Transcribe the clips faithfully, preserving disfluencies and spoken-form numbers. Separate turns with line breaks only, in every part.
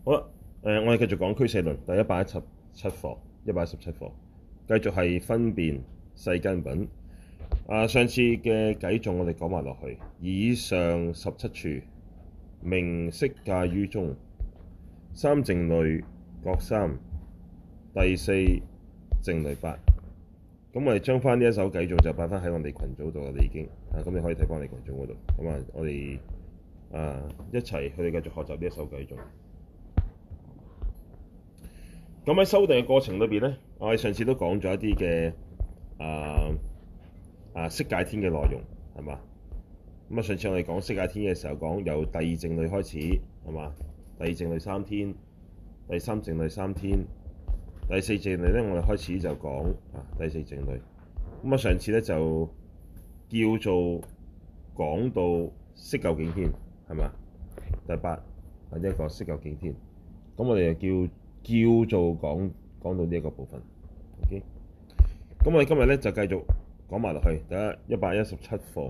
好啦，誒、呃，我哋繼續講俱舍論第一百一十七課，一百一十七課，繼續係分辨世間品。啊，上次嘅偈頌我哋講埋落去，以上十七處，名色界於中，三靜慮各三，第四靜慮八。咁我哋將翻呢一首偈頌就擺翻喺我哋群組度啦，已經啊，咁你可以睇翻我哋群組嗰度。咁啊，我哋啊一齊去繼續學習呢一首偈頌。咁喺修訂嘅過程裏邊咧，我哋上次都講咗一啲嘅啊啊色界天嘅內容，係嘛？咁啊，上次我哋講色界天嘅時候，講由第二靜慮開始，係嘛？第二靜慮三天，第三靜慮三天，第四靜慮咧，我哋開始就講啊第四靜慮。咁啊，上次咧就叫做講到色究竟天，係嘛？第八係一個色究竟天。咁我哋就叫。叫做講講到呢一個部分 ，OK。咁我哋今日咧就繼續講埋落去，第一一百一十七課。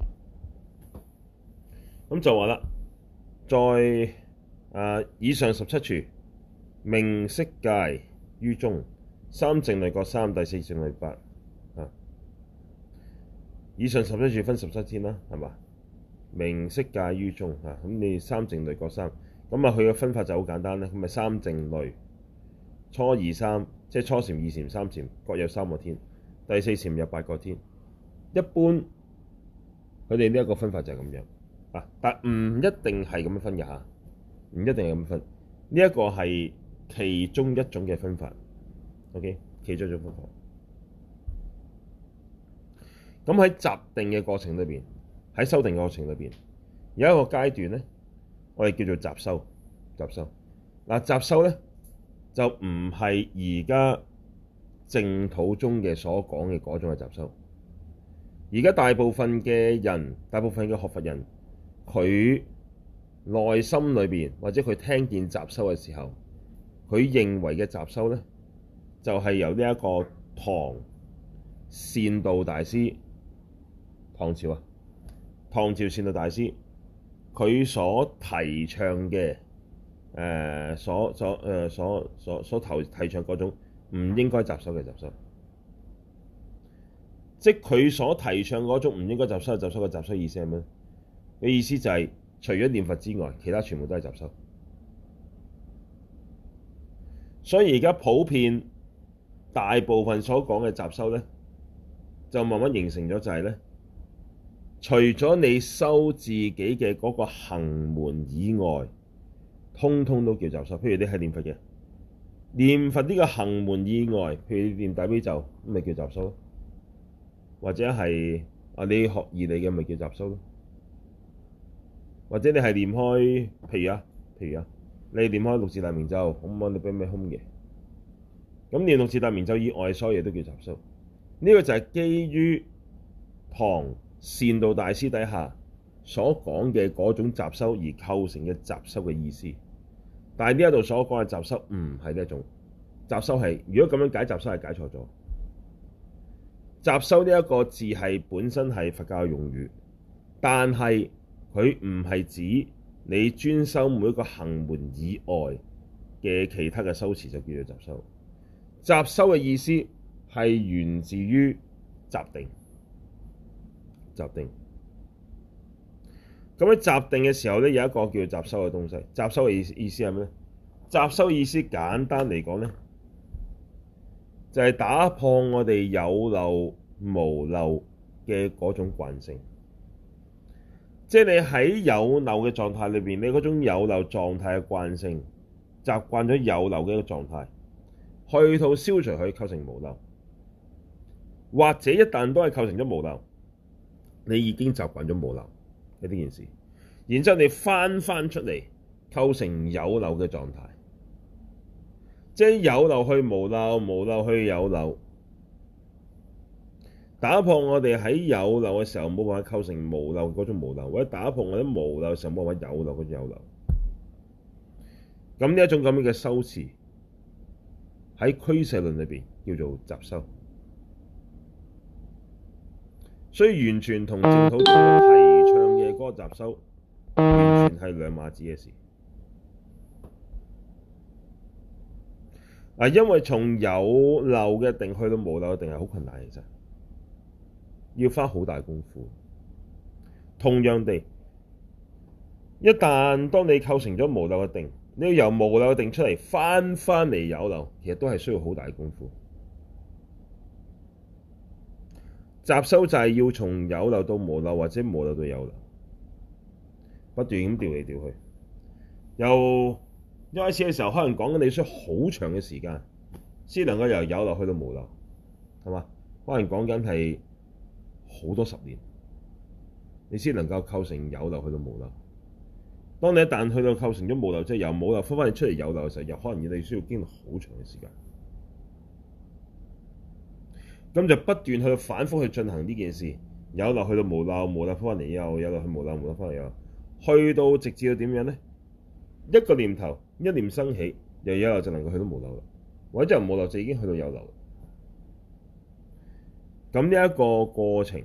咁就話啦，在啊、呃、以上十七處，名色界於中，三靜慮各三，第四靜慮八。啊，以上十七處分十七天啦，係嘛？名色界於中啊，咁你三靜慮各三。咁啊，佢嘅分法就好簡單咧。咁咪三靜慮，初二三，即係初禪、二禪、三禪，各有三個天；第四禪有八個天。一般佢哋呢一個分法就係咁樣啊，但唔一定係咁樣分嘅嚇，唔一定係咁分。呢一個係其中一種嘅分法。OK， 其中一種分法。咁喺集定嘅過程裏邊，喺修定嘅過程裏邊，有一個階段咧。我哋叫做集修，集修嗱，集修咧就唔係而家淨土中嘅所講嘅嗰種嘅集修。而家大部分嘅人，大部分嘅學佛人，佢內心裏邊或者佢聽見集修嘅時候，佢認為嘅集修咧，就係、是、由呢一個唐善導大師，唐朝啊，唐朝善導大師。佢所提倡嘅，誒、呃，所所誒、呃、所所所提提倡嗰種唔應該集修嘅集修，即係佢所提倡嗰種唔應該集修嘅集修嘅集修意思係咩？嘅意思就係、是、除咗念佛之外，其他全部都係集修。所以而家普遍大部分所講嘅集修咧，就慢慢形成咗就係咧。除咗你修自己嘅嗰個行門以外，通通都叫集修。譬如你係念佛嘅，念佛呢個行門以外，譬如你念大悲咒，咁咪叫集修咯。或者係啊，你學義理嘅咪叫集修咯。或者你係念開，譬如啊，譬如啊，你念開六字大明咒，咁你俾咩空嘅？咁念六字大明咒以外，所有嘢都叫集修。呢、這個就係基於唐善導大師底下所講嘅嗰種集修而構成嘅集修嘅意思，但係呢一度所講嘅集修唔係呢一種集修係，如果咁樣解集修係解錯咗。集修呢一個字係本身係佛教嘅用語，但係佢唔係指你專修每一個行門以外嘅其他嘅修持就叫做集修。集修嘅意思係源自於集定。集定，咁喺集定嘅時候咧，有一個叫做集修嘅東西。集修嘅意思意思係咩咧？集修意思簡單嚟講咧，就係、是、打破我哋有漏無漏嘅嗰種慣性。即係你喺有漏嘅狀態裏邊，你嗰種有漏狀態嘅慣性，習慣咗有漏嘅一個狀態，去到消除佢構成無漏，或者一旦都係構成咗無漏。你已經習慣咗無漏嘅呢件事，然之後你翻翻出嚟構成有漏嘅狀態，即係有漏去無漏，無漏去有漏，打破我哋喺有漏嘅時候冇辦法構成無漏嗰種無漏，或者打破我哋無漏嘅時候冇辦法有漏嗰種有漏。咁呢一種咁樣嘅修持喺俱舍論裏邊叫做集修。所以完全同淨土中提倡嘅嗰個集修，完全係兩碼子嘅事。 啊，因為從有漏嘅定去到無漏嘅定係好困難，其實要花好大功夫。同樣地，一旦當你構成咗無漏嘅定，你要由無漏嘅定出嚟，翻翻嚟有漏，其實都係需要好大功夫。雜修就係要從有漏到無漏，或者無漏到有漏，不斷咁調嚟調去。由一開始嘅時候，可能講緊你需要好長嘅時間，先能夠由有漏去到無漏，係嘛？可能講緊係好多十年，你先能夠構成有漏去到無漏。當你一旦去到構成咗無漏，即係由無漏翻返嚟出嚟有漏嘅時候，又可能要你需要經歷好長嘅時間。咁就不斷去到反覆去進行呢件事，有漏去到無漏，無漏翻返嚟又有漏去無漏，無漏翻嚟又去到直至到點樣咧？一個念頭一念生起，由有漏就能夠去到無漏啦，或者由無漏就已經去到有漏。咁呢一個過程，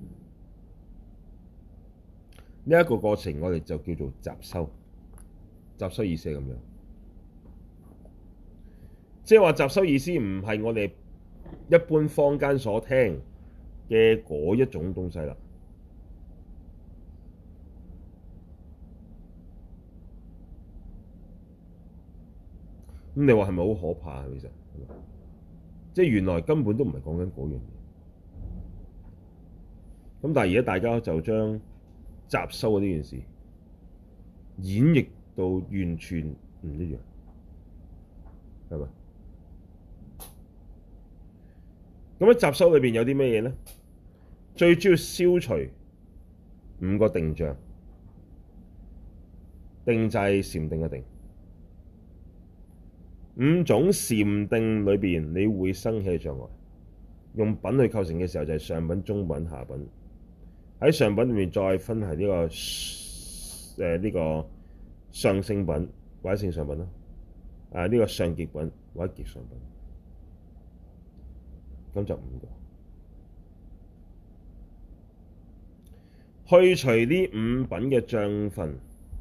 呢、這、一個過程我哋就叫做雜修。雜修意思係咁樣，即係話雜修意思唔係我哋一般坊間所聽嘅嗰一種東西啦。咁你話係咪好可怕啊？其實，即係原來根本都唔係講緊嗰樣嘢。咁但係而家大家就將雜修呢件事演繹到完全唔一樣，係咪？咁喺雜修裏邊有啲咩嘢咧？最主要消除五個定障，定就係禪定嘅定。五種禪定裏邊，你會生起嘅障礙，用品去構成嘅時候就係上品、中品、下品。喺上品裏面再分係呢、這個誒呢、呃這個上聖品或者聖上品啦，啊呢、這個上極品或者極上品，咁就五個。去除呢五品嘅障分，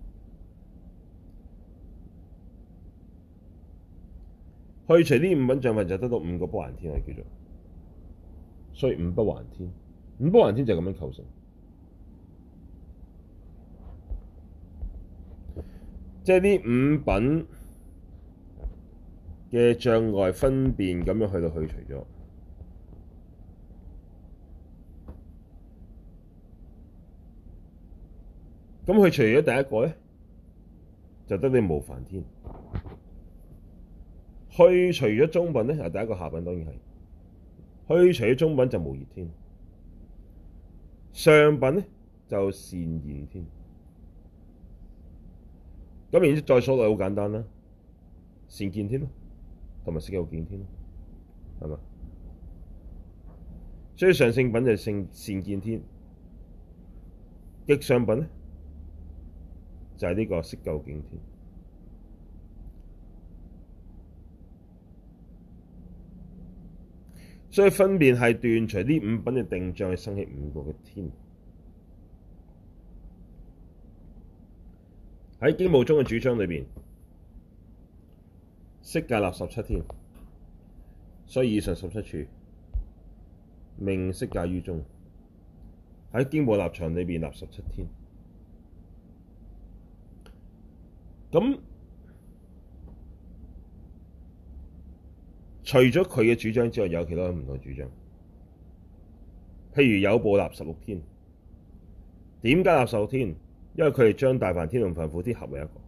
去除呢五品障分就得到五個不還天，我哋叫做，所以五不還天，五不還天就係咁樣構成。即係呢五品嘅障礙分別咁樣去到去除咗，咁去除咗第一個咧，就得你無煩天。去除咗中品咧，啊第一個下品當然係，去除咗中品就無熱天，上品咧就善現天。咁然之後再數落好簡單啦，善見天咯，同埋色有見天咯，係嘛？所以上聖品就係聖善見天，極上品咧就係呢個色究竟天。所以分別係斷除呢五品嘅定障，去生起五個嘅天。喺經部宗嘅主張裏邊，色界立十七天，所以以上十七處名色界於中。喺經部立場裏邊立十七天。咁除咗佢嘅主張之外，有其他唔同主張。譬如有部立十六天，點解立十六天？因為佢哋將大梵天同梵輔天合為一個，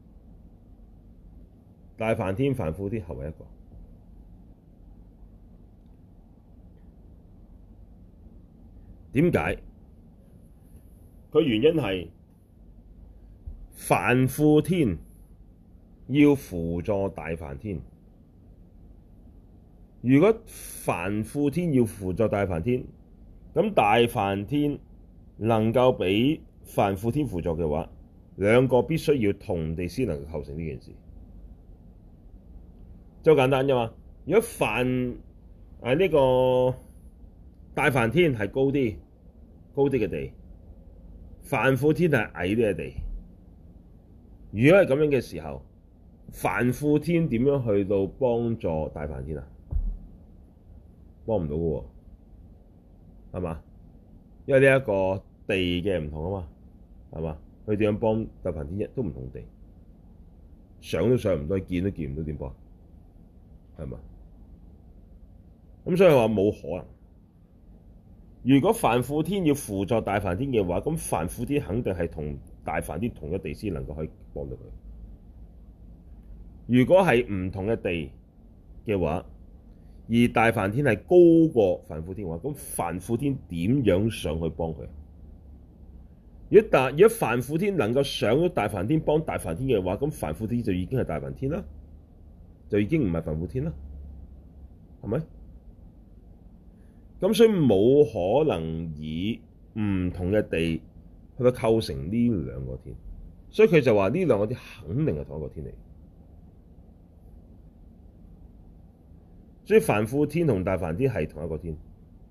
大梵天、梵輔天合為一個。點解？佢原因係梵輔天要輔助大梵天。如果梵輔天要輔助大梵天，咁大梵天能夠俾梵輔天輔助嘅話，兩個必須要同地先能夠構成呢件事，就好簡單啫嘛。如果梵誒呢個大梵天係高啲高啲嘅地，梵輔天係矮啲嘅地，如果係咁樣嘅時候， 梵輔天點樣去到幫助大梵天啊？幫唔到嘅喎，係嘛？因為呢一個地嘅唔同啊嘛，係嘛？佢點樣幫大梵天？一都唔同地，上都上唔到，見都見唔到，點幫？係嘛？咁所以話冇可能。如果梵輔天要輔助大梵天嘅話，咁梵輔天肯定係同大梵天同一地先能夠可以幫到佢。如果係唔同嘅地嘅話，而大梵天係高過梵輔天嘅話，咁梵輔天點樣上去幫佢？如果大如果梵輔天能夠上咗大梵天幫大梵天嘅話，咁梵輔天就已經係大梵天啦，就已經唔係梵輔天啦，係咪？咁所以冇可能以唔同嘅地去到構成呢兩個天，所以佢就話呢兩個天肯定係同一個天嚟。所以梵輔天同大梵天係同一個天，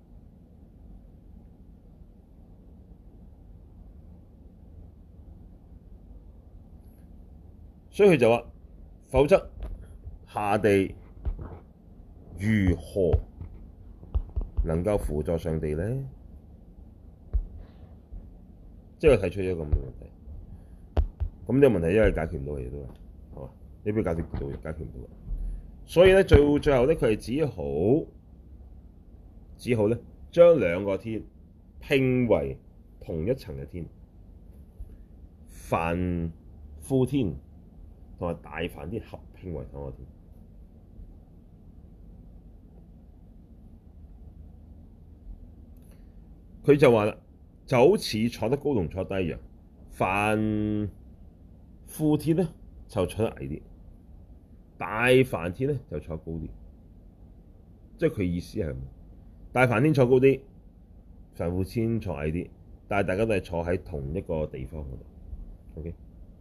所以佢就話：否則下地如何能夠輔助上地咧？即係佢提出咗一個咁嘅問題。咁呢個問題因為解決唔到嘅嘢都係，係嘛？你邊解決唔到嘅？解決唔到嘅。所以咧，最最後咧，佢係只好只好咧，將兩個天拼為同一層嘅天，梵輔天同埋大梵天合拼為同一個天。佢就話啦，就好似坐得高同坐低一樣，梵輔天咧就坐得矮啲。大梵天咧就坐高啲，即係佢意思係咁。大梵天坐高啲，梵輔天坐矮啲，但係大家都係坐喺同一個地方嗰度。OK，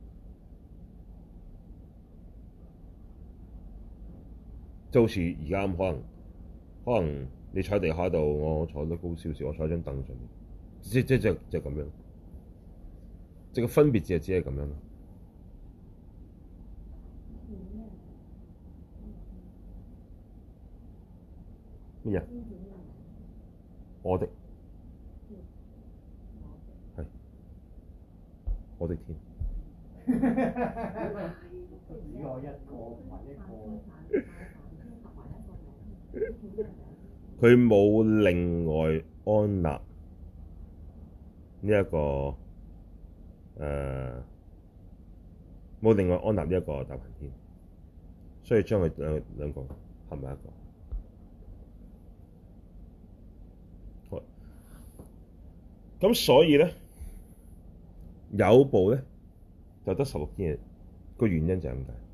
就好似而家咁，可能可能你坐喺地下度，我坐得高少少，我坐喺張凳上面，即即即即係咁樣，即係個分別只係只係咁樣咯。咩啊？我的係我的天。
只有一個或一
個。佢冇另外安立呢一個誒，冇另外安立呢一個大梵天，所以將佢兩兩個合埋一個。咁所以咧，有部咧就得十六天嘅，個原因就係咁解。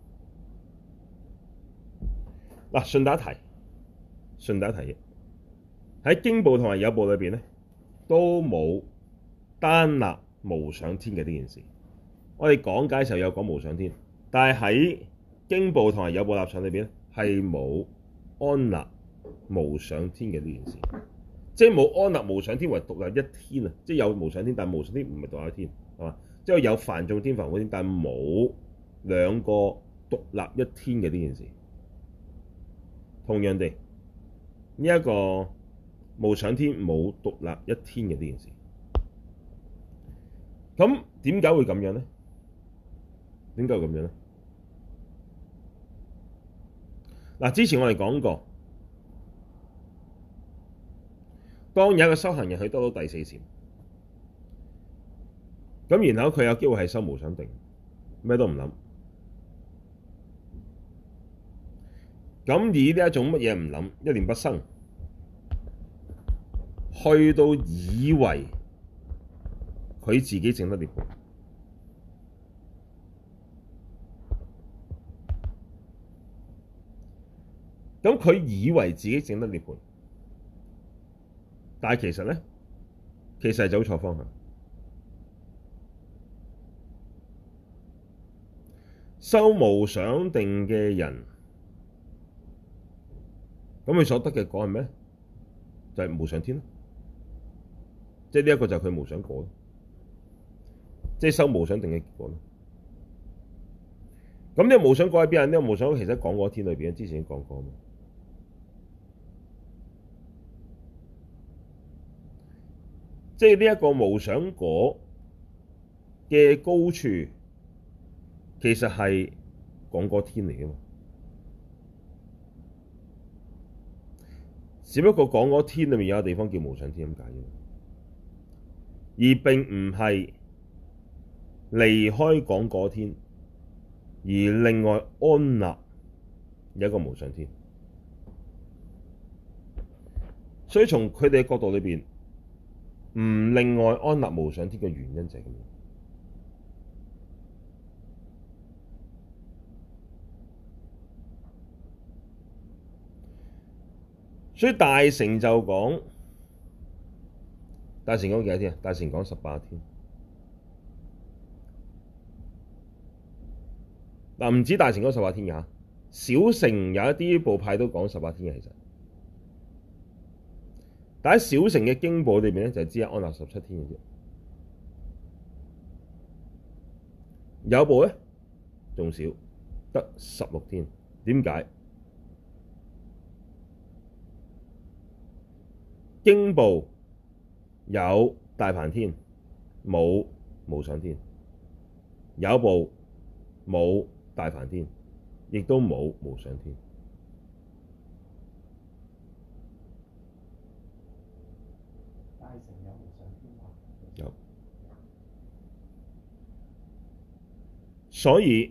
嗱，順帶一提，順帶一提嘅喺經部同埋有部裏邊咧，都冇單立無想天嘅呢件事。我哋講解嘅時候有講無想天，但係喺經部同埋有部立場裏邊咧，係冇安立無想天嘅呢件事。即係冇安立無想天為獨立一天啊！即係有無想天，但係無想天唔係獨立一天，係嘛？即係有梵眾天、梵輔天，但係冇兩個獨立一天嘅呢件事。同樣地，呢、這、一個無想天冇獨立一天嘅呢件事。咁點解會咁樣咧？點解會咁樣咧？嗱，之前我哋講過。當有一個修行人去得到第四禪，咁然後佢有機會係修無想定，咩都唔諗。咁以呢一種乜嘢唔諗，一念不生，去到以為佢自己證得涅槃。咁佢以為自己證得涅槃。但係其實咧，其實係走錯方向。修無想定嘅人，咁佢所得嘅果係咩？就係、是、無想天咯。即係呢一個就係佢無想果咯，即係修無想定嘅結果咯。 咁呢個無想果喺邊啊？呢個無想果其實喺講果天裏邊，之前已經講過嘛。即係呢一個無想果嘅高處，其實係講果天嚟嘅嘛。只不過講果天裏面有個地方叫無想天咁解啫，而並唔係離開講果天，而另外安立有一個無想天。所以從佢哋嘅角度裏邊，唔另外安立無想天嘅原因就係咁樣。所以大乘就講，大乘講幾多天啊？大乘講十八天。嗱，唔止大乘講十八天嘅嚇，小乘有一啲部派都講十八天嘅其實。但喺小乘嘅經部裏邊咧，就只係安立十七天嘅啫。有部咧仲少，得十六天。點解？經部有大梵天，冇無想天；有部冇大梵天，亦都冇無想天。
大乘有無想天嗎？
有。所以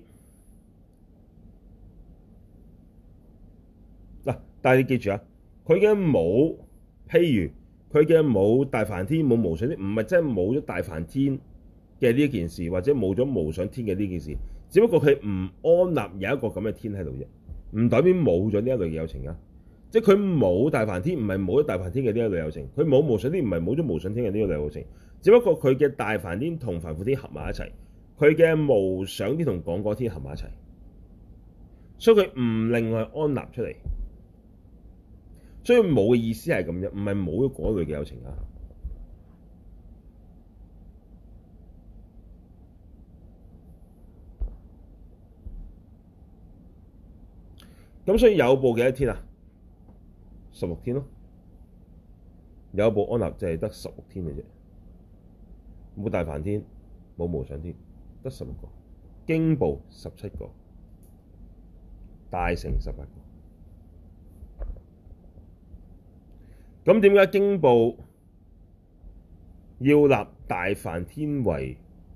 嗱，但係你記住啊，佢嘅冇。譬如佢嘅冇大梵天冇無想天，唔係真係冇咗大梵天嘅呢一件事，或者冇咗無想天嘅呢件事，只不過佢唔安立有一個咁嘅天喺度啫，唔代表冇咗呢一類嘅有情啊！即係佢冇大梵天，唔係冇咗大梵天嘅呢一類有情；佢冇無想天，唔係冇咗無想天嘅呢一類有情。只不過佢嘅大梵天同梵輔天合埋一齊，佢嘅無想天同講果天合埋一齊，所以佢唔另外安立出嚟。所以冇嘅意思係咁樣，唔係冇咗嗰類嘅有情啊。咁所以有部幾多天啊？十六天咯。有部安立就係得十六天嘅啫，冇大梵天，冇無想天，得十六個。經部十七個，大乘十八個。咁點解經部要立大梵天為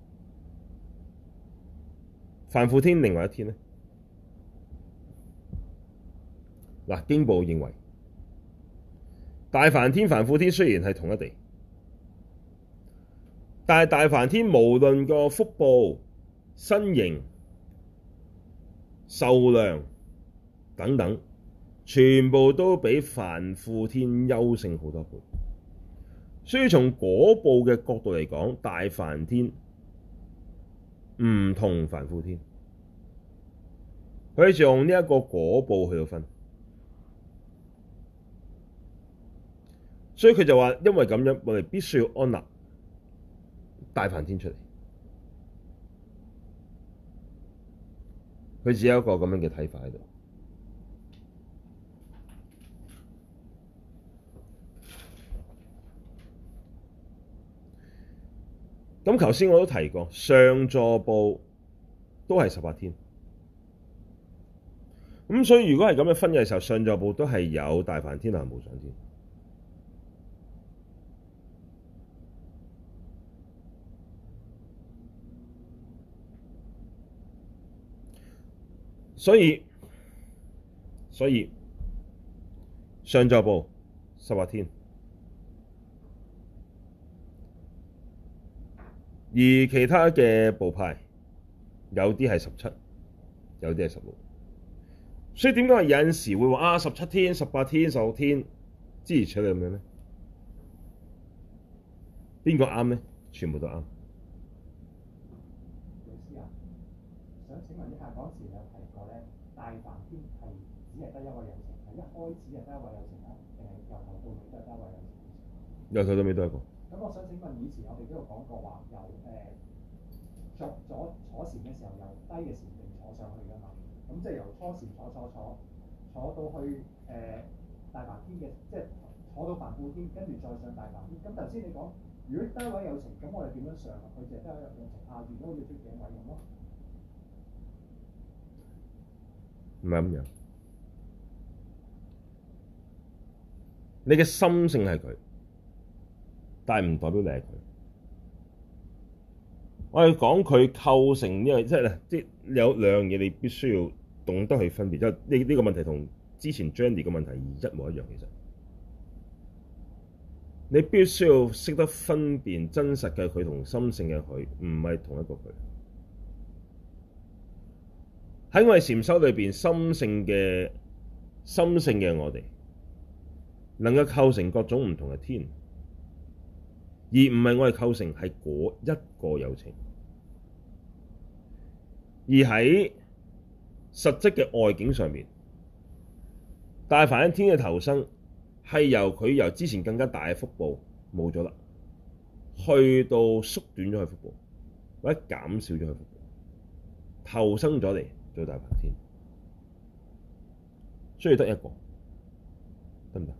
梵輔天另外一天呢？嗱，經部認為大梵天、梵輔天雖然係同一地，但係大梵天無論個福報、身形、壽量等等，全部都比梵輔天優勝好多倍，所以從果報嘅角度嚟講，大梵天唔同梵輔天，佢就用呢一個果報去到分，所以佢就話，因為咁樣，我哋必須要安立大梵天出嚟。佢只有一個咁樣嘅睇法喺度。咁頭先我都提過，上座部都係十八天。咁所以如果係咁樣分嘅時候，上座部都係有大梵天同無想天。所以所以上座部十八天。而其他嘅部派有啲係十七，有啲係十六，所以點解有陣時會話啊十七天、十八天、十六天諸如此類咁樣咧？邊個啱咧？全部都啱。
老師啊，想請問一下，嗰時有提過咧，大梵天係只係得一位有情，係一開始係得一位有情啦，定係由頭到尾都係得一位有情？
由頭到尾都係一個。
咁我想請問，以前我哋都有講過話，由誒作咗坐禪禪嘅時候由低嘅禪定坐上去㗎嘛，咁即係由初禪坐坐坐坐到去誒、呃、大梵天嘅，即係坐到梵輔天，跟住再上大梵天。咁頭先你講，如果低位有情，咁我哋點樣上啊？佢就係低位有情，下邊都好似出頸位咁咯。
唔係咁樣。你嘅心性係佢，但係唔代表你係佢。我哋講佢構成呢個，即係即係有兩樣嘢，你必須要懂得去分別。即係呢呢個問題同之前 Jenny 嘅問題一模一樣。其實你必須要識得分辨真實嘅佢同心性嘅佢，唔係同一個佢。喺我哋禪修裏邊，心性嘅心性嘅我哋，能夠構成各種唔同嘅天，而唔係我哋構成係嗰一個有情。而喺實質嘅外境上面，大梵天嘅投生係由佢由之前更加大嘅腹部冇咗啦，去到縮短咗佢腹部，或者減少咗佢腹部，投生咗嚟做大梵天，需要得一個，得唔得？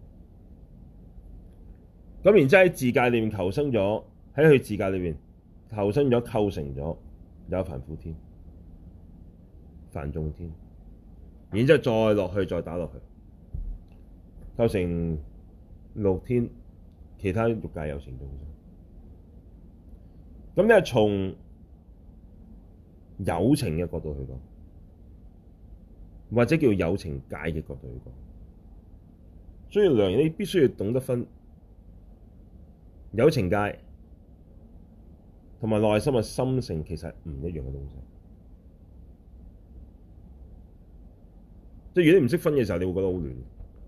咁然之後喺自界裏面投生咗，喺佢自界裏面投生咗，構成咗有梵輔天、梵眾天，然之後再落去，再打落去，構成六天，其他欲界有情眾生。咁呢係從有情嘅角度去講，或者叫有情界嘅角度去講，所以兩樣你必須要懂得分有情界同埋內心嘅心性，其實係唔一樣嘅東西。即係如果你唔識分嘅時候，你會覺得好亂。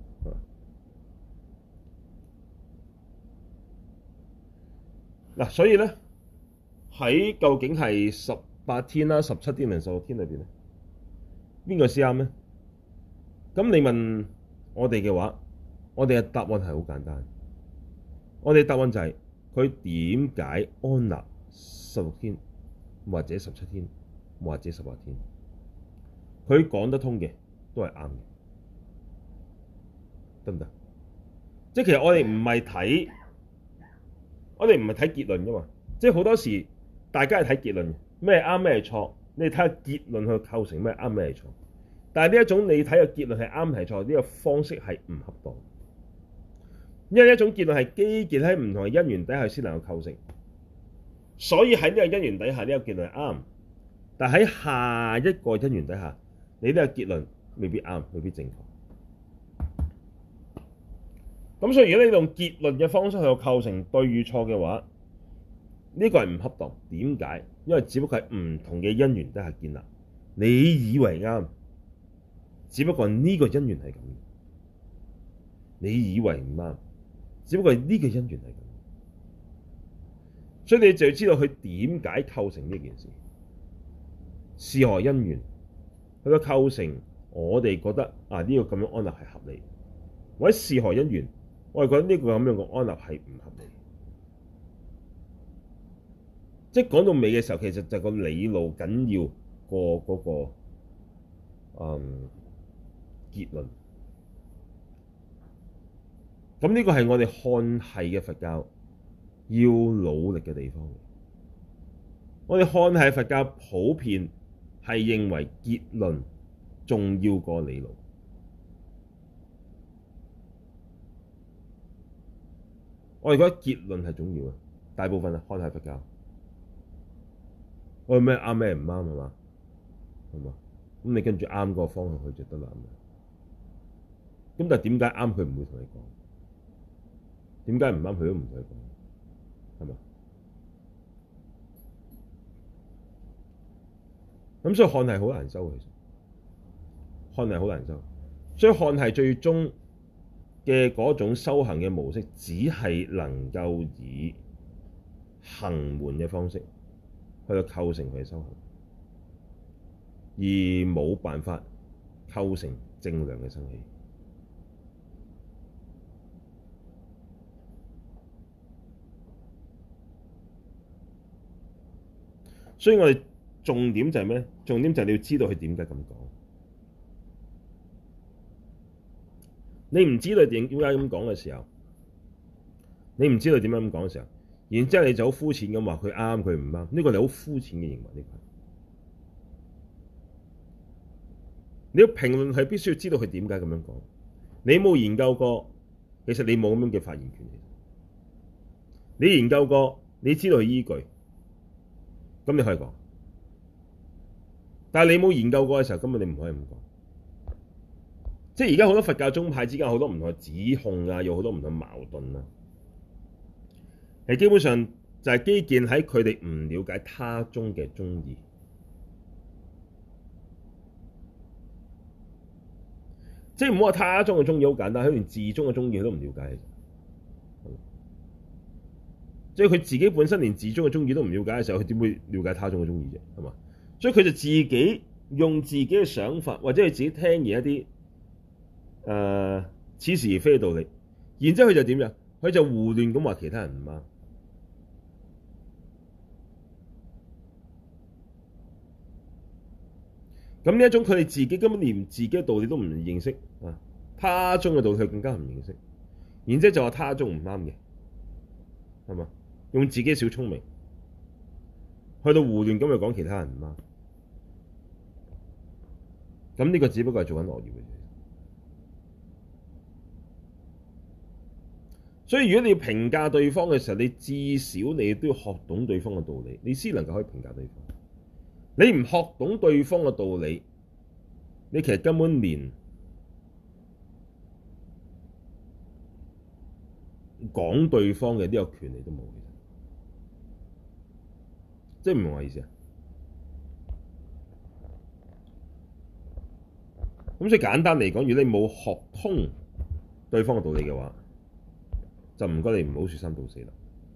嗱，所以咧喺究竟係十八天啦、十七天定十六天裏邊咧，邊個先啱咧？咁你問我哋嘅話，我哋嘅答案係好簡單。我哋答案就係佢點解安立十六天，或者十七天，或者十八天？佢講得通嘅都係啱嘅，得唔得？即係其實我哋唔係睇，我哋唔係睇結論㗎嘛。即係好多時大家係睇結論嘅，咩啱咩係錯，你睇下結論去構成咩啱咩係錯。但係呢一種你睇個結論係啱係錯，呢個方式係唔恰當。因為呢一種結論係基建喺唔同嘅因緣底下先能夠構成，所以喺呢個因緣底下呢個結論係啱，但喺下一個因緣底下，你呢個結論未必啱，未必正確。咁所以如果你用結論嘅方式去構成對與錯嘅話，呢個係唔恰當。點解？因為只不過係唔同嘅因緣底下建立，你以為啱，只不過呢個因緣係咁，你以為唔啱。只不過係呢個因緣係咁，所以你就要知道佢點解構成呢件事，是何因緣，佢個構成，我哋覺得啊呢、這個咁樣安立係合理，或者是何因緣，我哋覺得呢個咁樣嘅安立係唔合理。即係講到尾嘅時候，其實就係個理路緊要過嗰、那個嗯結論。咁呢個係我哋漢系嘅佛教要努力嘅地方。我哋漢系佛教普遍係認為結論重要過理路。我哋覺得結論係重要嘅，大部分啊漢系佛教。我哋咩啱咩唔啱係嘛？係嘛？咁你跟住啱嗰個方向去就得啦。咁但係點解啱佢唔會同你講？點解唔啱佢都唔同你講，係嘛？咁所以漢系好難修，其實漢系好難修。所以漢系最終嘅嗰種修行嘅模式，只係能夠以行門嘅方式去到構成佢嘅修行，而冇辦法構成正量嘅生起。所以我哋重點就係咩？重點就係你要知道佢點解咁講。你唔知道點點解咁講嘅時候，你唔知道點樣咁講嘅時候，然之後你就好膚淺咁話佢啱佢唔啱，呢個你好膚淺嘅認為呢個。你要評論係必須要知道佢點解咁樣講。你冇研究過，其實你冇咁樣嘅發言權。你研究過，你知道佢依據，咁你可以講。但係你冇研究過嘅時候，根本你唔可以咁講。即係而家好多佛教宗派之間好多唔同嘅指控啊，有好多唔同嘅矛盾啊。係基本上就係基建喺佢哋唔了解他宗嘅宗義。即係唔好話他宗嘅宗義好簡單，佢連自宗嘅宗義佢都唔了解。即係佢自己本身連自宗嘅宗義都唔了解嘅時候，佢點會了解他宗嘅宗義啫？係嘛？所以佢就自己用自己嘅想法，或者係自己聽而一啲誒似是而非嘅道理，然之後佢就點樣？佢就胡亂咁話其他人唔啱。咁呢一種佢哋自己根本連自己嘅道理都唔認識啊，他宗嘅道理佢更加唔認識，然之後就話他宗唔啱嘅，係嘛？用自己小聰明去到胡亂咁去講其他人唔啱，咁呢個只不過係做緊惡業嘅啫。所以如果你要評價對方嘅時候，你至少你都要學懂對方嘅道理，你先能夠可以評價對方。你唔學懂對方嘅道理，你其實根本連講對方嘅呢個權利都冇。即係唔明我意思啊？咁所以簡單嚟講，如果你冇學通對方嘅道理嘅話，就唔該你唔好說三道四啦。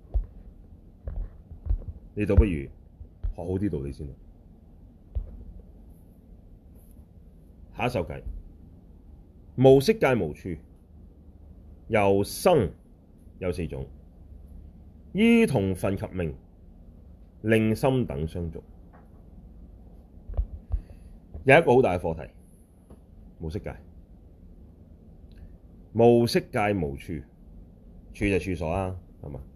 你倒不如學好啲道理先。下一首偈，無色界無處，由生有四種，依同分及名，令心等相續。有一個好大嘅課題，無色界。無色界無處，處就處所啦，係嘛？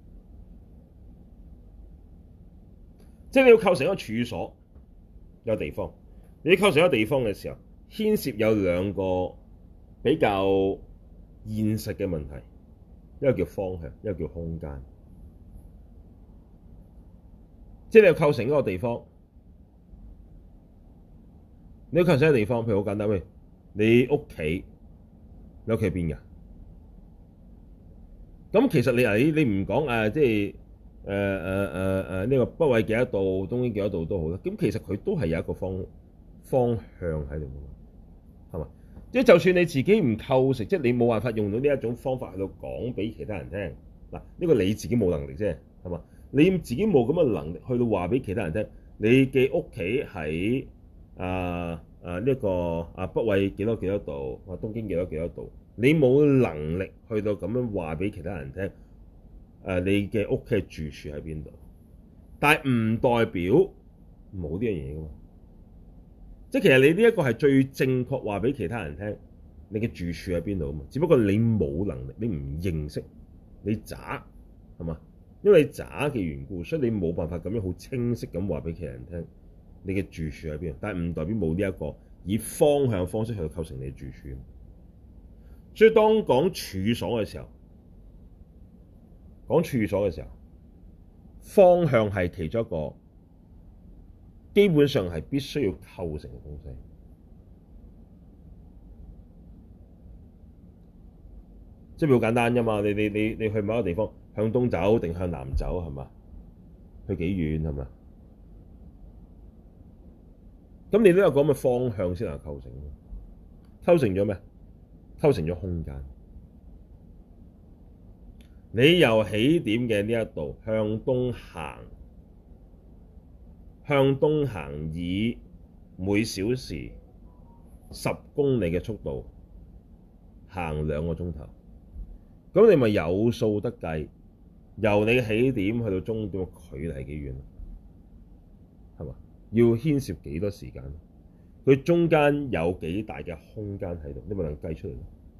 即係你要構成一個處所，有地方。你要構成一個地方嘅時候，牽涉有兩個比較現實嘅問題，一個叫方向，一個叫空間。即係你要構成一個地方，你要構成一個地方，譬如好簡單，喂，你屋企，你屋企邊㗎？咁其實你啊，你你唔講誒，即係誒誒誒誒呢個北緯幾多度，東經幾多度都好啦。咁其實佢都係有一個方方向喺度㗎，係嘛？即係就算你自己唔構成，即係你冇辦法用到呢一種方法去到講俾其他人聽。嗱，呢個你自己冇能力啫，係嘛？你自己冇咁嘅能力去到話俾其他人聽，你嘅屋企喺啊啊呢個啊北緯幾多幾多度，啊東經幾多幾多度，你冇能力去到咁樣話俾其他人聽，誒、啊、你嘅屋企住處喺邊度？但係唔代表冇呢樣嘢㗎嘛。即係其實你呢一個係最正確話俾其他人聽，你嘅住處喺邊度啊嘛？只不過你冇能力，你唔認識，你渣係嘛？因為你渣嘅緣故，所以你冇辦法咁樣好清晰咁話俾其他人聽你嘅住處喺邊。但係唔代表冇呢一個以方向方式去構成你嘅住處。所以當講處所嘅時候，講處所嘅時候，方向係其中一個基本上係必須要構成嘅東西。即係好簡單啫嘛！你你你你去某一個地方，向東走定向南走係嘛？去幾遠係嘛？咁你都有講嘅方向先能構成。構成咗咩？構成咗空間。你由起點嘅呢一度向東行，向東行以每小時十公里嘅速度行兩個鐘頭。咁你咪有數得計，由你起點去到終點嘅距離係幾遠？係嘛？ 要牽涉幾多時間？佢中間有幾大嘅空間喺度？你咪能計出嚟咯。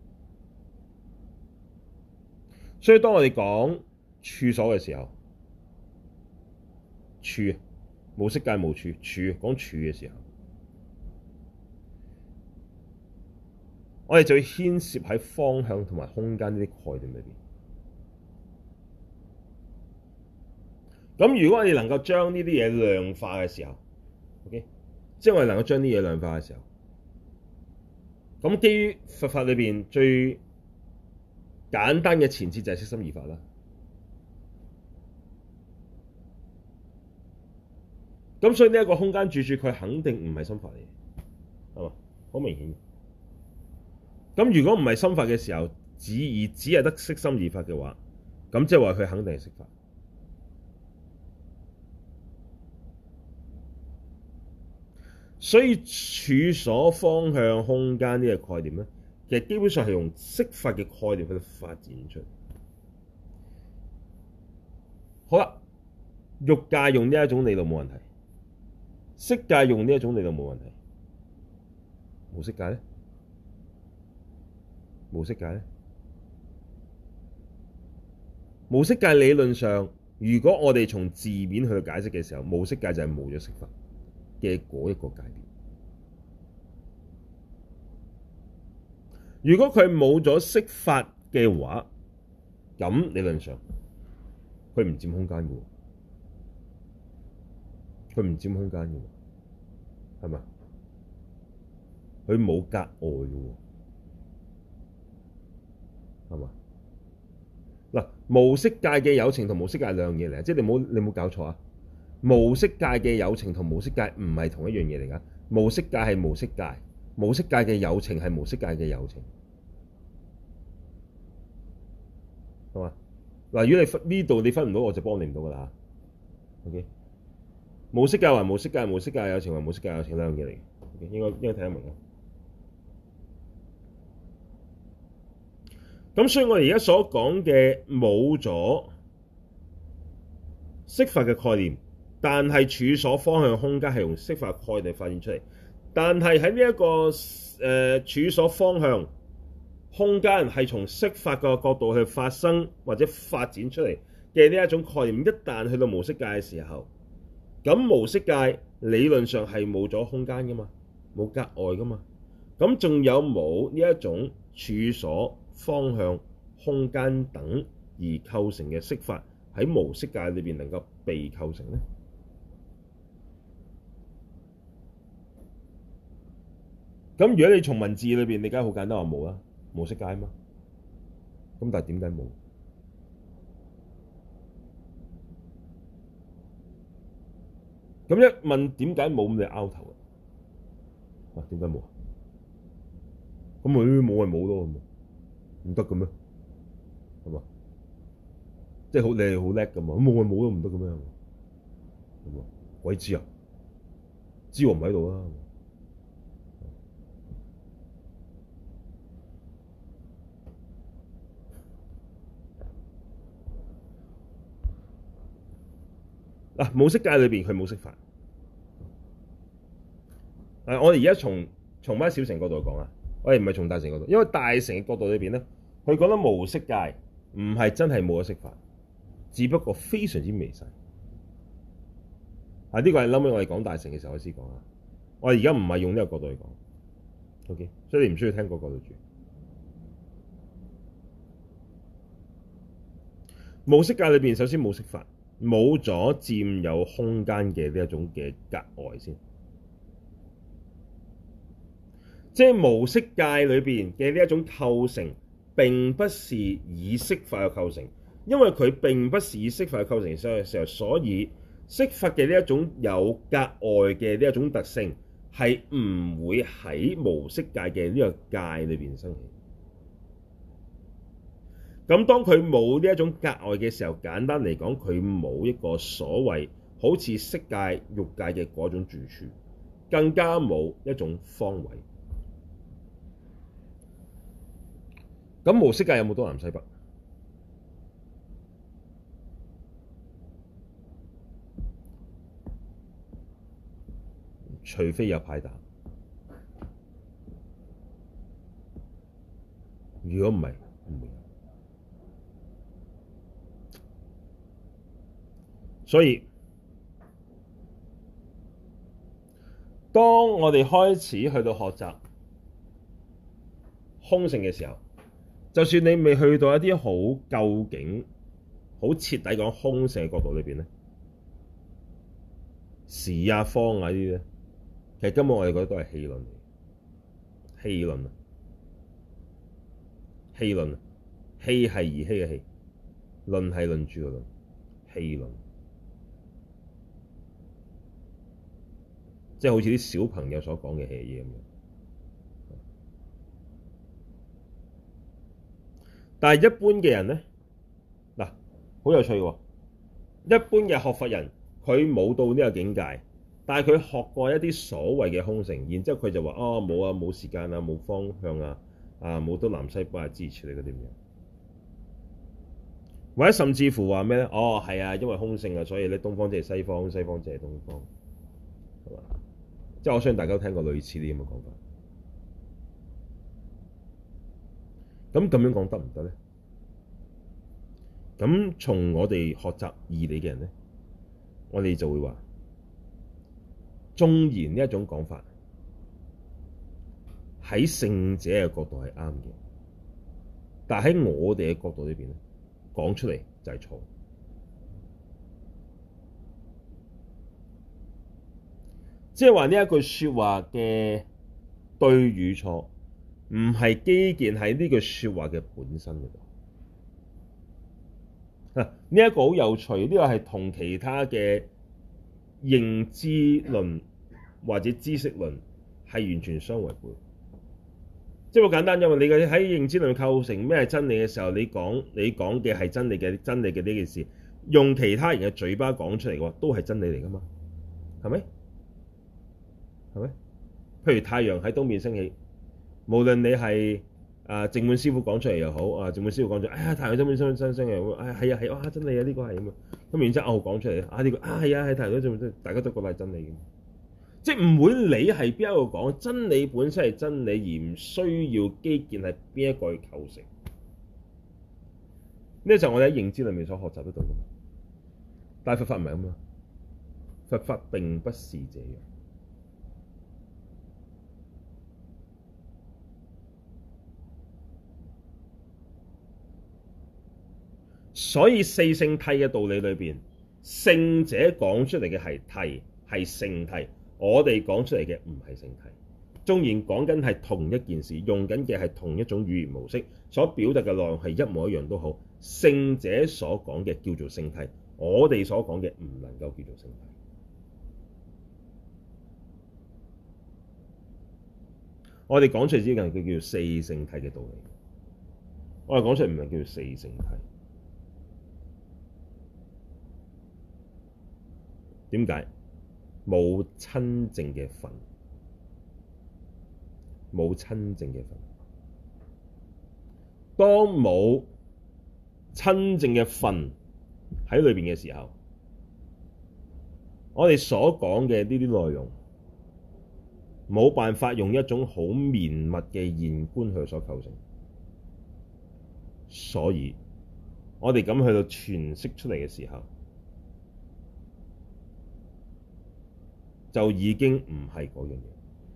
所以當我哋講處所嘅時候，處無色界無處，處講處嘅時候，我哋就要牽涉喺方向同埋空間呢啲概念裏邊。咁如果我哋能夠將呢啲嘢量化嘅時候 ，OK， 即係我哋能夠將啲嘢量化嘅時候，咁基於佛法裏邊最簡單嘅前設就係色心二法啦。咁所以呢一個空間住處，佢肯定唔係心法嚟嘅，係嘛？好明顯。咁如果唔係心法嘅時候，只而只係得色心二法嘅話，咁即係話佢肯定係色法。所以處所、方向、空間呢個概念咧，其實基本上係用色法嘅概念去發展出嚟。好啦，欲界用呢一種理論冇問題，色界用呢一種理論冇問題，無色界咧？無色界咧？無色界理論上，如果我哋從字面去解釋嘅時候，無色界就係冇咗色法嘅嗰一個界別。如果佢冇咗色法嘅話，咁理論上佢唔佔空間嘅喎，佢唔佔空間嘅喎，係咪？佢冇隔礙嘅喎，係嘛？嗱，無色界嘅有情同無色界係兩樣嘢嚟，即係你冇你冇搞錯啊！無色界嘅有情同無色界唔係同一樣嘢嚟㗎。無色界係無色界，無色界嘅有情係無色界嘅有情，係嘛？嗱，如果你分呢度你分唔到，我就幫你唔到㗎啦。OK，無色界還無色界，無色界有情還無色界有情，兩樣嘢嚟嘅。OK，應該應該睇得明啊。咁所以我哋而家所講嘅冇咗色法嘅概念，但係處所、方向、空間係用色法概念發展出嚟。但係喺呢一個誒、呃、處所、方向、空間係從色法個角度去發生或者發展出嚟嘅呢一種概念，一旦去到無色界嘅時候，咁無色界理論上係冇咗空間噶嘛，冇隔礙噶嘛。咁仲有冇呢一種處所、方向、空間等而構成嘅色法喺無色界裏邊能夠被構成呢？咁如果你從文字裏邊，你梗係好簡單話冇啦，無色界嘛。咁但係點解冇？咁一問點解冇，咁你拗頭啊？哇，點解冇啊？咁佢冇咪冇咯，唔得嘅咩？係嘛？即係好你係好叻㗎嘛？咁冇咪冇都唔得嘅咩？係嘛？鬼知啊？知我唔喺度啊！嗱，無色界裏邊佢冇色法。誒，我哋而家從從翻小乘角度講啊，我哋唔係從大乘角度，因為大乘嘅角度裏邊咧，佢覺得無色界唔係真係冇咗色法，只不過非常之微細。啊，呢個係後尾我哋講大乘嘅時候開始講啊。我哋而家唔係用呢個角度去講 ，OK，所以你唔需要聽嗰個角度住。無色界裏邊首先冇色法。冇咗佔有空間嘅呢一種嘅隔礙先，即係無色界裏邊嘅呢一種構成並不是以色法嘅構成，因為佢並不是以色法嘅構成嘅時候，所以色法嘅呢一種有隔礙嘅呢一種特性係唔會喺無色界嘅呢個界裏邊生起。咁當佢冇呢一種隔礙嘅時候，簡單嚟講，佢冇一個所謂好似色界、欲界嘅嗰種住處，更加冇一種方位。咁無色界有冇東南西北？ 除非有牌打。如果唔係，唔會。所以，當我哋開始去到學習空性嘅時候，就算你未去到一啲好究竟、好徹底講空性嘅角度裏邊咧，時啊、方啊呢啲咧，其實根本我哋覺得都係戲論嚟，戲論啊，戲論啊，戲係兒戲嘅戲，論係論著嘅論，戲論，即係好似啲小朋友所講嘅戲嘢咁樣。但係一般嘅人咧，嗱，好有趣喎！一般嘅學佛人，佢冇到呢個境界，但係佢學過一啲所謂嘅空性，然之後佢就話：哦，冇啊，冇時間啊，冇方向啊，啊，冇東南西北啊，支持你嗰啲咁樣。或者甚至乎話咩咧？哦，係啊，因為空性啊，所以咧東方即係西方，西方即係東方，係嘛？即係我相信大家都聽過類似啲咁嘅講法。咁咁樣講得唔得咧？咁從我哋學習義理嘅人咧，我哋就會話，縱然呢一種講法喺聖者嘅角度係啱嘅，但喺我哋嘅角度裏邊咧，講出嚟就係錯。即係話呢一句説話嘅對與錯，唔係基建喺呢句説話嘅本身嗰度。啊，呢一個好有趣，呢個係同其他嘅認知論或者知識論係完全相違背。即係好簡單，因為你嘅喺認知論構成咩係真理嘅時候，你講你講嘅係真理嘅真理嘅呢件事，用其他人嘅嘴巴講出嚟嘅話，都係真理嚟噶嘛？係咪？係咪？譬如太陽喺東面升起，無論你係啊淨滿師傅講出嚟又好，啊淨滿師傅講咗，哎呀太陽東面升升升嘅，哎係啊係啊真理啊呢個係咁啊，咁然之後我講出嚟，啊呢個啊係啊係太陽東面，大家都覺得係真理嘅，即係唔會理係邊一個講，真理本身係真理，而唔需要基建係邊一個去構成。呢就係我哋喺認知裏面所學習得到嘅，但係佛法唔係咁啊，佛法並不是這樣。所以四聖諦嘅道理裏邊，聖者講出嚟嘅係諦，係聖諦；我哋講出嚟嘅唔係聖諦。縱然講緊係同一件事，用緊嘅係同一種語言模式，所表達嘅內容係一模一樣都好，聖者所講嘅叫做聖諦，我哋所講嘅唔能夠叫做聖諦。我哋講出嚟之間，佢叫做四聖諦嘅道理。我哋講出嚟唔係叫做四聖諦。點解？冇親證嘅分，冇親證嘅分。當冇親證嘅分喺裏邊嘅時候，我哋所講嘅呢啲內容冇辦法用一種好綿密嘅現觀去所構成，所以我哋咁去到詮釋出嚟嘅時候，就已經唔係嗰樣嘢。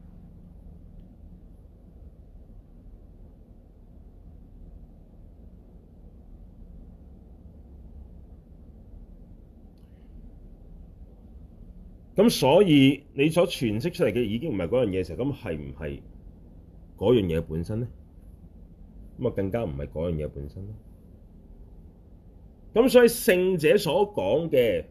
咁所以你所詮釋出嚟嘅已經唔係嗰樣嘢嘅時候，咁係唔係嗰樣嘢本身咧？咁啊更加唔係嗰樣嘢本身咯。咁所以聖者所講嘅，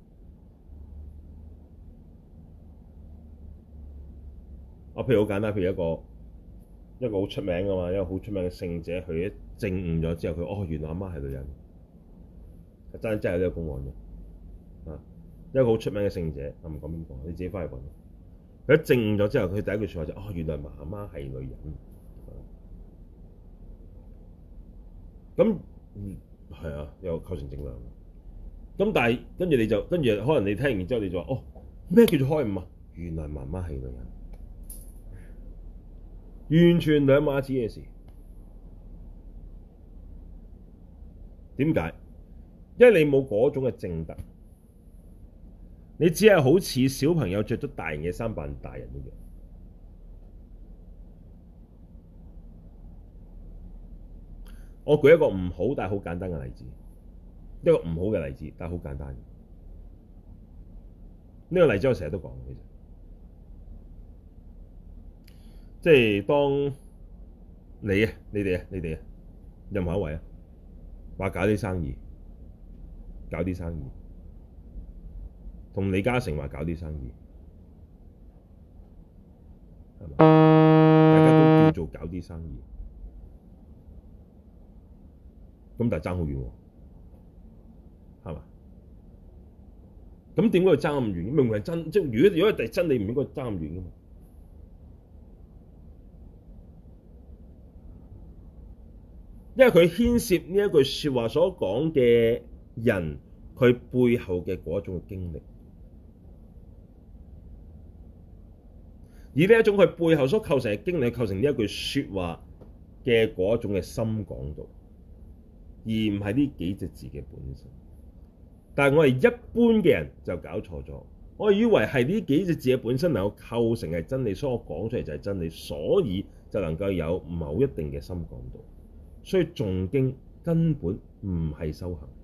啊，譬如好簡單，譬如一個一個好出名㗎嘛，一個好出名嘅聖者，佢一證悟咗之後，佢哦原來阿媽係女人，真真係有呢個公案嘅，啊，一個好出名嘅聖者，我唔講邊個，你自己翻去揾。佢一證悟咗之後，佢第一句説話就哦原來媽媽係女人，咁嗯係啊，有構成正量。咁但係跟住你就跟住可能你聽完之後你就話哦咩叫做開悟啊？ 原來媽媽係女人，完全兩碼子嘅事。點解？因為你冇嗰種嘅證德，你只係好似小朋友着咗大人嘅衫扮大人一樣。我舉一個唔好但係好簡單嘅例子，一個唔好嘅例子，但係好簡單。呢個例子我成日都講，其實即係當你啊、你哋啊、你哋啊，任何一位啊，話搞啲生意，搞啲生意，同李嘉誠話搞啲生意，係嘛？大家都叫做搞啲生意，咁但係爭好遠喎，係嘛？咁點解要爭咁遠？明明係真，即係如果如果係真理，唔應該爭咁遠噶嘛？因為佢牽涉呢一句説話所講嘅人，佢背後嘅嗰種嘅經歷，而呢一種佢背後所構成嘅經歷，構成呢一句説話嘅嗰種嘅深廣度，而唔係呢幾隻字嘅本身。但係我哋一般嘅人就搞錯咗，我以為係呢幾隻字嘅本身能夠構成係真理，所以我講出嚟就係真理，所以就能夠有某一定嘅深廣度。所以誦經根本唔係修行，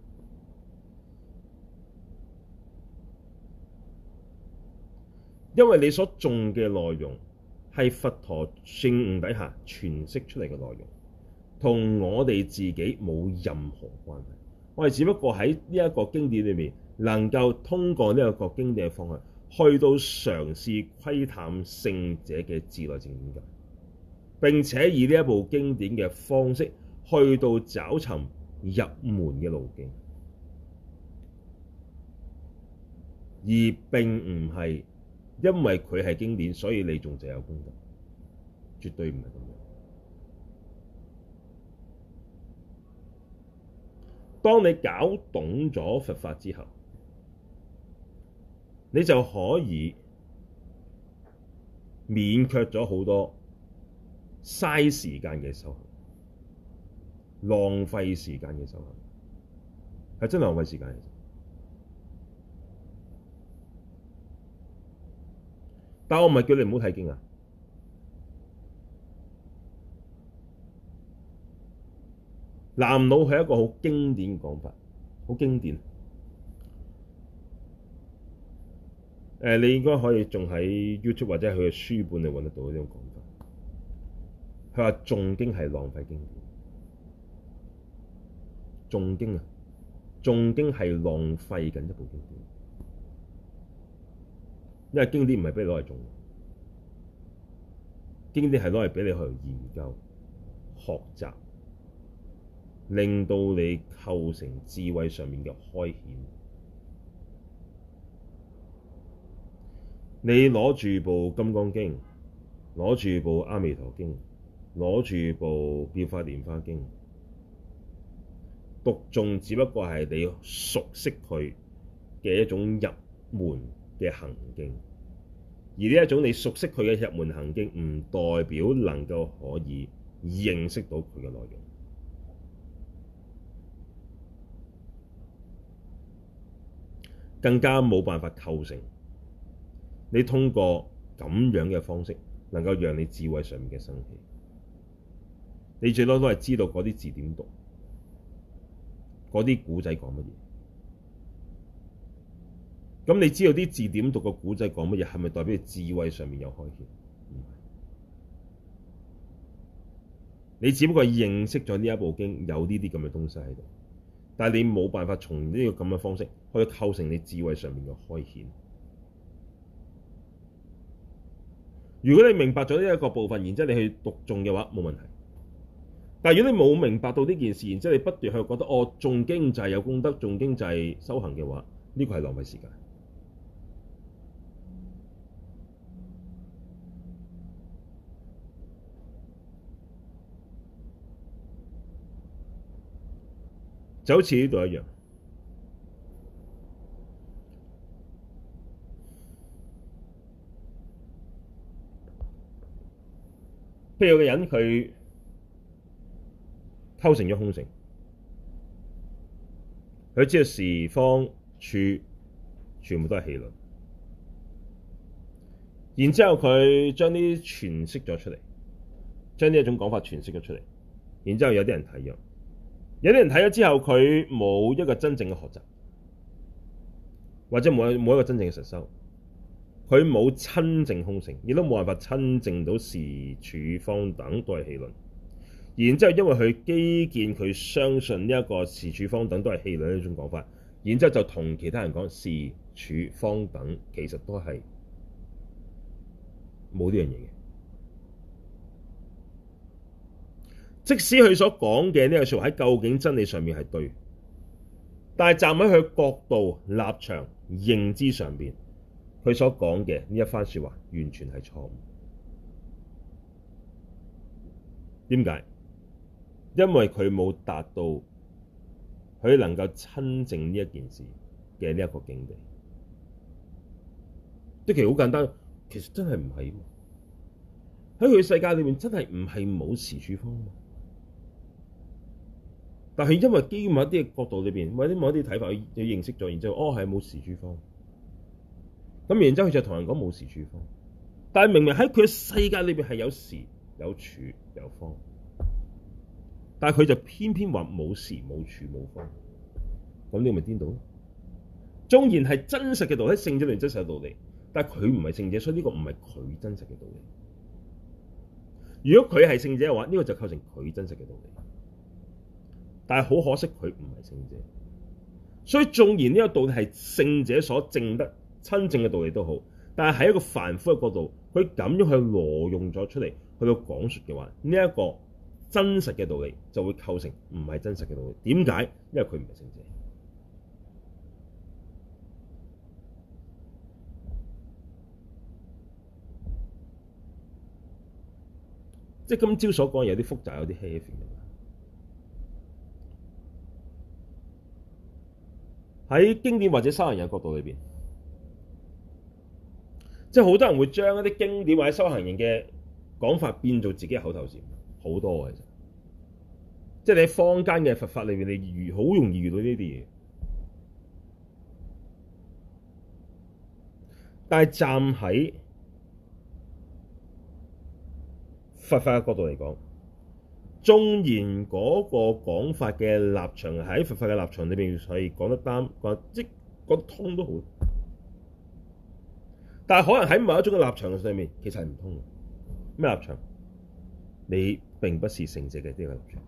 因為你所誦嘅內容係佛陀證悟底下詮釋出嚟嘅內容，同我哋自己冇任何關係。我哋只不過喺呢一個經典裏面，能夠通過呢一個經典嘅方向，去到嘗試窺探聖者嘅自內證點解。並且以呢一部經典嘅方式去到找尋入門嘅路徑，而並唔係因為佢係經典，所以你仲就有功德，絕對唔係咁樣。當你搞懂咗佛法之後，你就可以免卻咗好多嘥時間嘅修行，浪費時間嘅修行，係真係浪費時間嘅。但我唔係叫你唔好睇經啊。南老係一個好經典嘅講法，好經典。誒，你應該可以仲喺 YouTube 或者佢嘅書本嚟揾得到呢種講法。佢話誦經係浪費經典，誦經啊，誦經係浪費緊一部經典，因為經典唔係俾你攞嚟誦，經典係攞嚟俾你去研究、學習，令到你構成智慧上面嘅開顯。你攞住部《金剛經》，攞住部《阿彌陀經》，攞住部《妙法蓮華經》，讀誦只不過係你熟悉佢嘅一種入門嘅行徑，而呢一種你熟悉佢嘅入門行徑，唔代表能夠可以認識到佢嘅內容，更加冇辦法構成你通過咁樣嘅方式能夠讓你智慧上面嘅生起。你最多都係知道嗰啲字點讀，嗰啲古仔講乜嘢。咁你知道啲字點讀，個古仔講乜嘢，係咪代表你智慧上面有開顯？唔係，你只不過認識咗呢一部經有呢啲咁嘅東西喺度，但係你冇辦法從呢個咁嘅方式去構成你智慧上面嘅開顯。如果你明白咗呢一個部分，然之後你去讀誦嘅話，冇問題。但係如果你冇明白到呢件事，然之後你不斷去覺得哦，誦經就係有功德，誦經就係修行嘅話，呢個係浪費時間。就好似呢度一樣， 譬如有個人佢構成咗空性，佢知道時方處全部都係氣輪，然之後佢將呢啲詮釋咗出嚟，將呢一種講法詮釋咗出嚟，然之後有啲人睇咗，有啲人睇咗之後佢冇一個真正嘅學習，或者冇冇一個真正嘅實修，佢冇親證空性，亦都冇辦法親證到時處方等都係氣輪。然之後因為佢基建佢相信呢一個時處方等都係氣輪呢種講法，然之後就同其他人講時處方等其實都係冇呢樣嘢嘅。即使佢所講嘅呢個說話喺究竟真理上面係對，但係站喺佢角度、立場、認知上邊，佢所講嘅呢一番說話完全係錯誤。點解？因為佢冇達到佢能夠親證呢一件事嘅呢一個境地。即其實好簡單，其實真係唔係喺佢世界裏面真係唔係冇時處方嘛。但係因為基於某一啲嘅角度裏邊，或者某一啲睇法，佢佢認識咗，然之後哦係冇時處方。咁然之後佢就同人講冇時處方，但係明明喺佢嘅世界裏邊係有時有處有方。但係佢就偏偏話冇時冇處冇方，咁你咪顛倒咯。縱然係真實嘅道理，聖者裏真實嘅道理，但係佢唔係聖者，所以呢個唔係佢真實嘅道理。如果佢係聖者嘅話，呢個就構成佢真實嘅道理。但係好可惜，佢唔係聖者，所以縱然呢個道理係聖者所證得親證嘅道理都好，但係喺一個凡夫嘅角度，佢咁樣去挪用咗出嚟去到講述嘅話，呢一個真實嘅道理就會構成唔係真實嘅道理。點解？因為佢唔係聖者。即係今朝所講有啲複雜，有啲 heavy 嘅。喺經典或者修行人嘅角度裏邊，即係好多人會將一啲經典或者修行人嘅講法變做自己嘅口頭禪，好多嘅其實。即係你喺坊間嘅佛法裏邊，你遇好容易遇到呢啲嘢。但係站喺佛法嘅角度嚟講，縱然嗰個講法嘅立場喺佛法嘅立場裏邊係講得啱，講即講得通都好，但係可能喺某一種嘅立場上面，其實係唔通嘅。咩立場？你並不是聖者嘅呢個立場。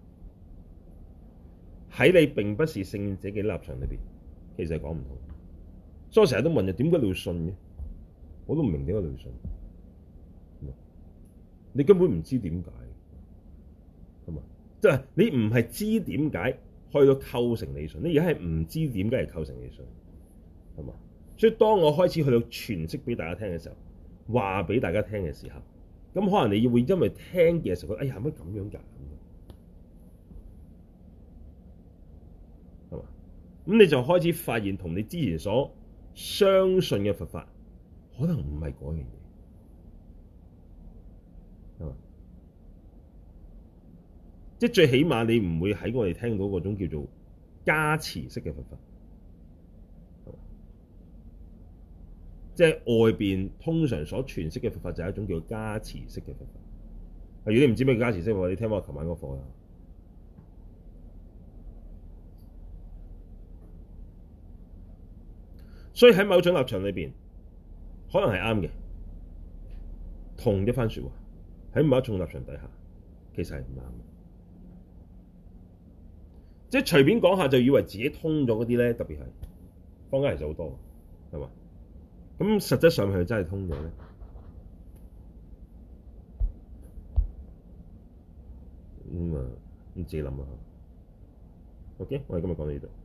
喺你並不是聖者嘅立場裏邊，其實係講唔通。所以我成日都問人：點解你要信嘅？我都唔明點解你要信。你根本唔知點解，係嘛？即係你唔係知點解去到構成你信，你而家係唔知點解係構成你信，係嘛？所以當我開始去到詮釋俾大家聽嘅時候，話俾大家聽嘅時候，咁可能你會因為聽嘅時候覺得，哎呀，乜咁樣㗎？係嘛？咁你就開始發現同你之前所相信嘅佛法可能唔係嗰樣嘢。即係最起碼你唔會喺我哋聽到嗰種叫做加持式嘅佛法，即係外邊通常所詮釋嘅佛法就係一種叫加持式嘅佛法。如果你唔知咩叫加持式嘅話，你聽我琴晚嗰課啦。所以喺某種立場裏邊，可能係啱嘅，同一番説話喺某一種立場底下，其實係唔啱嘅。即係隨便講下就以為自己通咗嗰啲咧，特別係坊間其實好多，係嘛？咁實質上係真係通咗咧？咁啊，你自己諗下。OK，我哋今日講到呢度。